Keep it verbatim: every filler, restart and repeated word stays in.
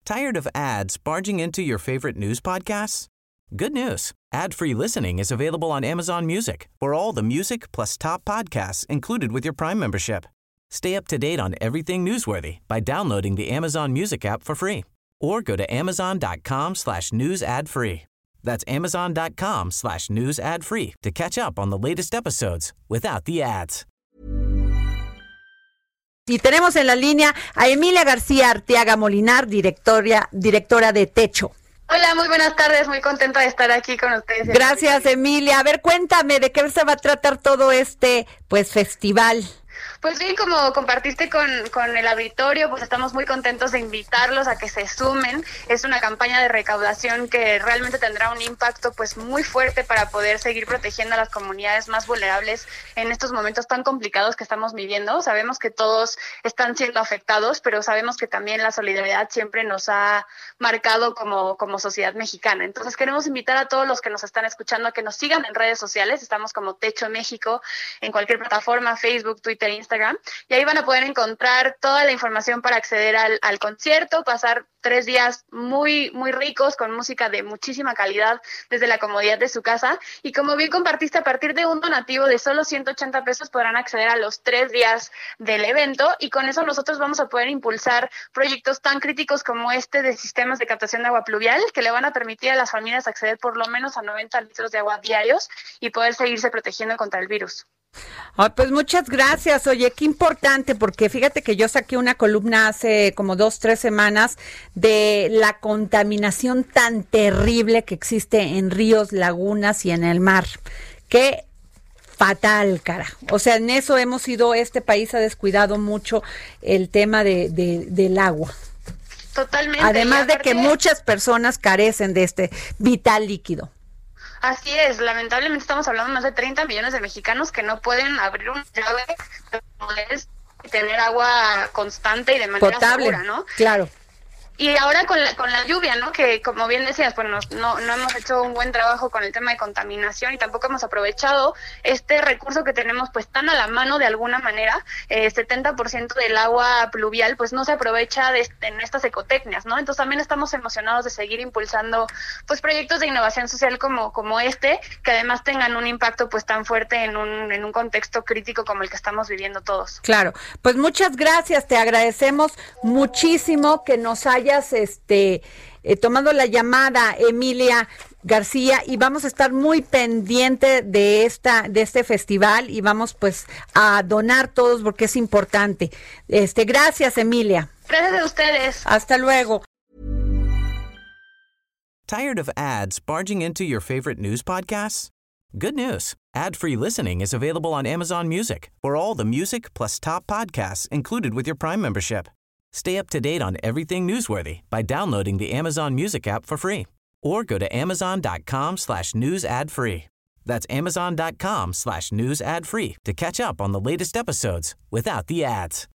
Tired of ads barging into your favorite news podcasts? Good news. Ad-free listening is available on Amazon Music for all the music plus top podcasts included with your Prime membership. Stay up to date on everything newsworthy by downloading the Amazon Music app for free or go to amazon.com slash news ad free. That's amazon.com slash news ad free to catch up on the latest episodes without the ads. Y tenemos en la línea a Emilia García Arteaga Molinar, directora, directora de Techo. Hola, muy buenas tardes, muy contenta de estar aquí con ustedes. Gracias, Emilia. A ver, cuéntame, ¿de qué se va a tratar todo este, pues, festival? Pues bien, como compartiste con, con el auditorio, pues estamos muy contentos de invitarlos a que se sumen. Es una campaña de recaudación que realmente tendrá un impacto pues muy fuerte para poder seguir protegiendo a las comunidades más vulnerables en estos momentos tan complicados que estamos viviendo. Sabemos que todos están siendo afectados, pero sabemos que también la solidaridad siempre nos ha marcado como, como sociedad mexicana. Entonces queremos invitar a todos los que nos están escuchando a que nos sigan en redes sociales. Estamos como Techo México en cualquier plataforma, Facebook, Twitter, Instagram, y ahí van a poder encontrar toda la información para acceder al, al concierto, pasar tres días muy, muy ricos con música de muchísima calidad desde la comodidad de su casa. Y como bien compartiste, a partir de un donativo de solo ciento ochenta pesos podrán acceder a los tres días del evento, y con eso nosotros vamos a poder impulsar proyectos tan críticos como este de sistemas de captación de agua pluvial, que le van a permitir a las familias acceder por lo menos a noventa litros de agua diarios y poder seguirse protegiendo contra el virus. Oh, pues muchas gracias. Oye, qué importante, porque fíjate que yo saqué una columna hace como dos, tres semanas de la contaminación tan terrible que existe en ríos, lagunas y en el mar. Qué fatal, cara. O sea, en eso hemos sido, este país ha descuidado mucho el tema de, de del agua. Totalmente. Además de que muchas personas carecen de este vital líquido. Así es, lamentablemente estamos hablando de más de treinta millones de mexicanos que no pueden abrir una llave y tener agua constante y de manera potable, segura, ¿no? Claro. Y ahora con la, con la lluvia, ¿no? Que como bien decías, pues no, no, no hemos hecho un buen trabajo con el tema de contaminación y tampoco hemos aprovechado este recurso que tenemos pues tan a la mano de alguna manera. Eh, setenta por ciento del agua pluvial pues no se aprovecha de, en estas ecotecnias, ¿no? Entonces también estamos emocionados de seguir impulsando pues proyectos de innovación social como, como este, que además tengan un impacto pues tan fuerte en un, en un contexto crítico como el que estamos viviendo todos. Claro, pues muchas gracias, te agradecemos muchísimo que nos haya este eh, tomando la llamada, Emilia García, y vamos a estar muy pendiente de esta de este festival y vamos pues a donar todos porque es importante. Este, gracias, Emilia. Gracias a ustedes. Hasta luego. Tired of ads barging into your favorite news podcasts? Good news. Ad-free listening is available on Amazon Music for all the music plus top podcasts included with your Prime membership. Stay up to date on everything newsworthy by downloading the Amazon Music app for free or go to amazon.com slash news ad free. That's amazon.com slash news ad free to catch up on the latest episodes without the ads.